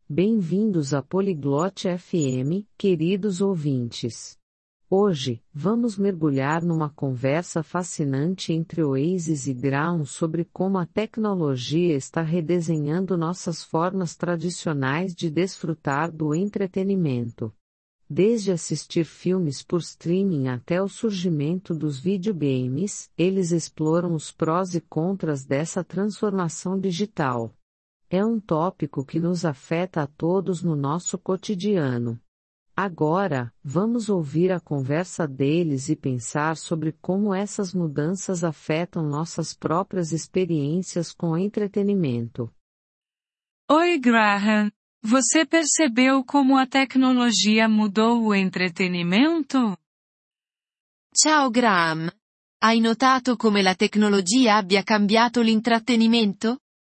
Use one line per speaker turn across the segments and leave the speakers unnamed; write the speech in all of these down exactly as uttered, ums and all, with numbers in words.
Bem-vindos à Poliglote F M, queridos ouvintes. Hoje, vamos mergulhar numa conversa fascinante entre Oasis e Ground sobre como a tecnologia está redesenhando nossas formas tradicionais de desfrutar do entretenimento. Desde assistir filmes por streaming até o surgimento dos videogames, eles exploram os prós e contras dessa transformação digital. É um tópico que nos afeta a todos no nosso cotidiano. Agora, vamos ouvir a conversa deles e pensar sobre como essas mudanças afetam nossas próprias experiências com entretenimento.
Oi, Graham. Você percebeu como a tecnologia mudou o entretenimento?
Ciao Graham. Hai notato come la tecnologia abbia cambiato l'intrattenimento?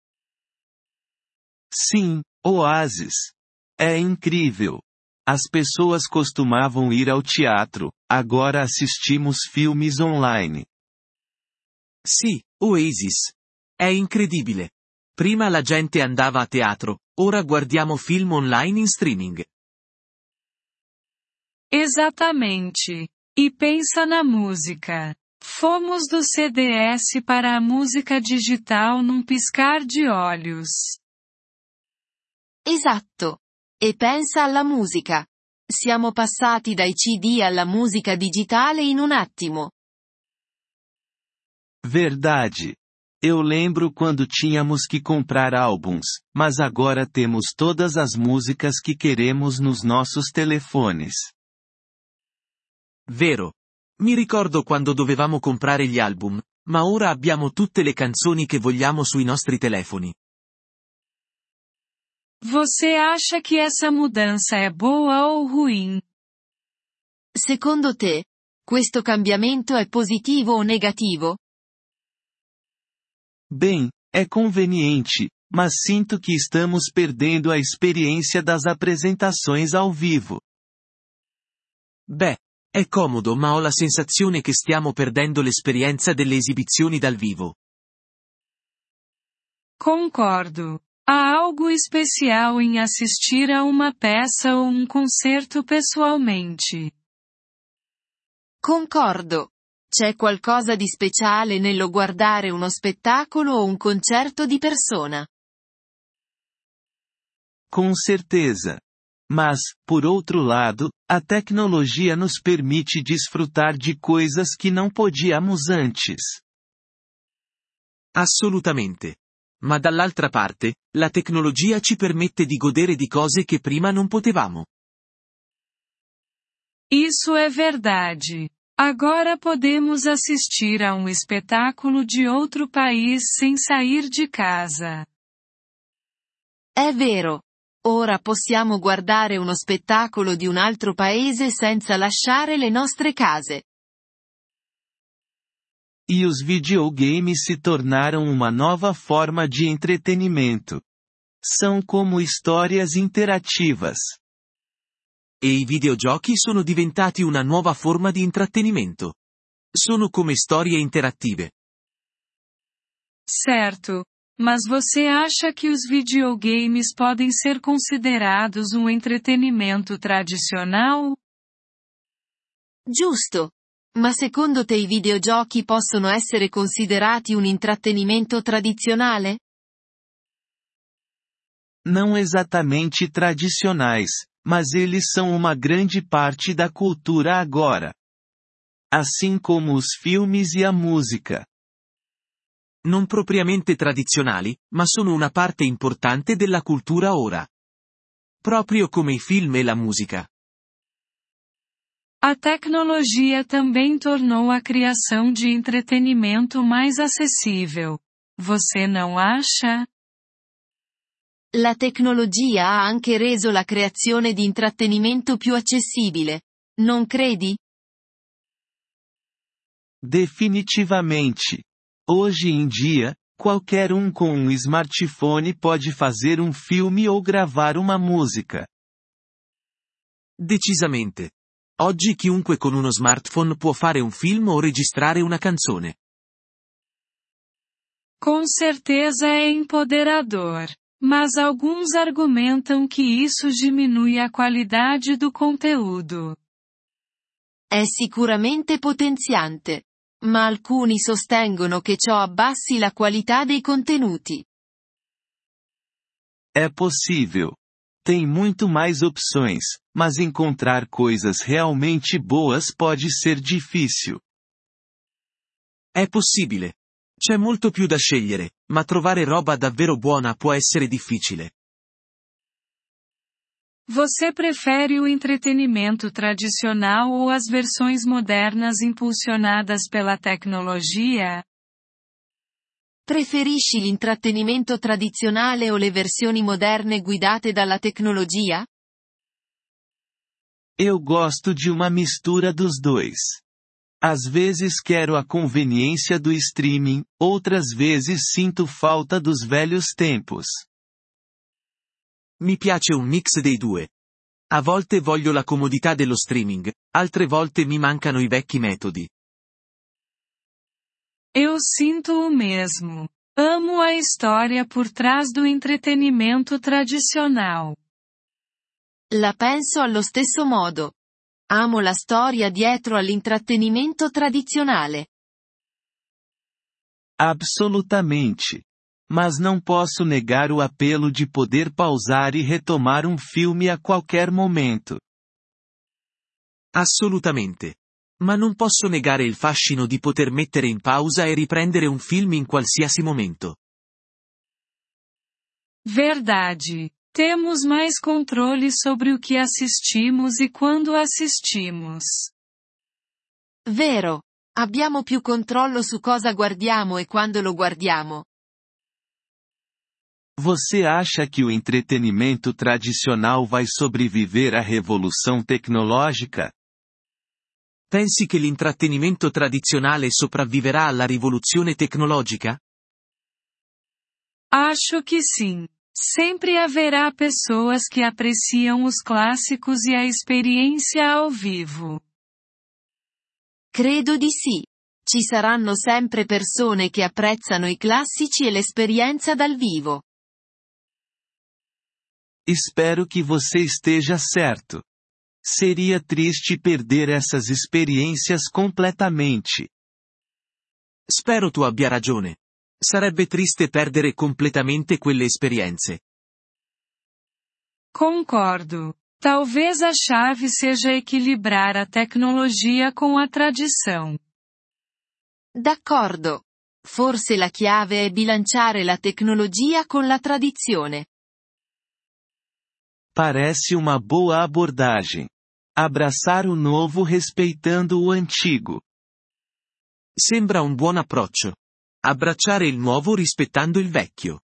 Sim, Oasis. É incrível. As pessoas costumavam ir ao teatro, agora assistimos filmes online.
Sì, Oasis. È incredibile. Prima la gente andava a teatro, ora guardiamo film online in streaming.
Exatamente. E pensa na música. Fomos do C D S para a música digital num piscar de olhos.
Esatto. E pensa alla musica. Siamo passati dai C D alla musica digitale in un attimo.
Verdade. Eu lembro quando tínhamos que comprar álbuns, mas agora temos todas as músicas que queremos nos nossos telefones.
Vero. Mi ricordo quando dovevamo comprare gli album, ma ora abbiamo tutte le canzoni che vogliamo sui nostri telefoni.
Você acha que essa mudança é boa ou ruim?
Secondo te, questo cambiamento è positivo o negativo?
Bem, é conveniente, mas sinto que estamos perdendo a experiência das apresentações ao vivo.
Beh, è comodo, ma ho la sensazione che stiamo perdendo l'esperienza delle esibizioni dal vivo.
Concordo. Há algo especial em assistir a uma peça ou um concerto pessoalmente.
Concordo. C'è qualcosa di speciale nello guardare uno spettacolo o un concerto di persona.
Com certeza. Mas, por outro lado, a tecnologia nos permite desfrutar de coisas que não podíamos antes.
Assolutamente. Ma dall'altra parte, la tecnologia ci permette di godere di cose che prima non potevamo.
Isso é verdade. Agora podemos assistir a um espetáculo de outro país sem sair de casa.
È vero. Ora possiamo guardare uno spettacolo di un altro paese senza lasciare le nostre case.
E os videogames se tornaram uma nova forma de entretenimento. São como histórias interativas.
E i videogiochi sono diventati una nuova forma di intrattenimento. Sono come storie interattive.
Certo. Mas você acha que os videogames podem ser considerados um entretenimento tradicional?
Giusto. Ma secondo te i videogiochi possono essere considerati un intrattenimento tradizionale?
Não exatamente tradicionais, mas eles são uma grande parte da cultura agora. Assim como os filmes e a música.
Non propriamente tradizionali, ma sono una parte importante della cultura ora. Proprio come i film e la musica.
A tecnologia também tornou a criação de entretenimento mais acessível. Você não acha?
La tecnologia ha anche reso la creazione di intrattenimento più accessibile. Non credi?
Definitivamente. Hoje em dia, qualquer um com um smartphone pode fazer um filme ou gravar uma música.
Decisamente. Oggi chiunque con uno smartphone può fare un film o registrare una canzone.
Com certeza é empoderador. mas alguns argumentam que isso diminui a qualidade do conteúdo.
È sicuramente potenziante. Ma alcuni sostengono che ciò abbassi la qualità dei contenuti.
É possível. Tem muito mais opções, mas encontrar coisas realmente boas pode ser difícil.
È possibile. C'è molto più da scegliere, ma trovare roba davvero buona può essere difficile.
Você prefere o entretenimento tradicional ou as versões modernas impulsionadas pela tecnologia?
Preferisci l'intrattenimento tradizionale o le versioni moderne guidate dalla tecnologia?
Eu gosto de uma mistura dos dois. Às vezes quero a conveniência do streaming, outras vezes sinto falta dos velhos tempos.
Mi piace un mix dei due. A volte voglio la comodità dello streaming, altre volte mi mancano i vecchi metodi.
Eu sinto o mesmo. Amo a história por trás do entretenimento tradicional.
La penso allo stesso modo. Amo la storia dietro all'intrattenimento tradizionale.
Absolutamente. Mas não posso negar o apelo de poder pausar e retomar um filme a qualquer momento.
Assolutamente. Ma non posso negare il fascino di poter mettere in pausa e riprendere un film in qualsiasi momento.
Verdade. Temos mais controle sobre o que assistimos e quando assistimos.
Vero. Abbiamo più controllo su cosa guardiamo e quando lo guardiamo.
Você acha que o entretenimento tradicional vai sobreviver à revolução tecnológica?
Pensi che l'intrattenimento tradizionale sopravviverà alla rivoluzione tecnologica?
Acho que sim. Sempre haverá pessoas que apreciam os clássicos e a experiência ao vivo.
Credo di sì. Ci saranno sempre persone che apprezzano i classici e l'esperienza dal vivo.
Espero que você esteja certo. Seria triste perder essas experiências completamente.
Spero tu abbia ragione. Sarebbe triste perdere completamente quelle esperienze.
Concordo. Talvez a chave seja equilibrar a tecnologia com a tradição.
D'accordo. Forse la chiave è bilanciare la tecnologia con la tradizione.
Parece uma boa abordagem. Abraçar o novo respeitando o antigo.
Sembra un buon approccio. Abbracciare il nuovo rispettando il vecchio.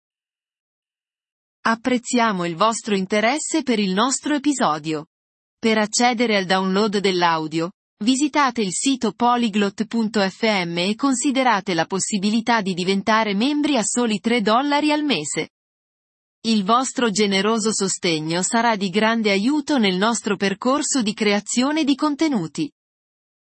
Apprezziamo il vostro interesse per il nostro episodio. Per accedere al download dell'audio, visitate il sito polyglot punto effe emme e considerate la possibilità di diventare membri a soli tre dollari al mese. Il vostro generoso sostegno sarà di grande aiuto nel nostro percorso di creazione di contenuti.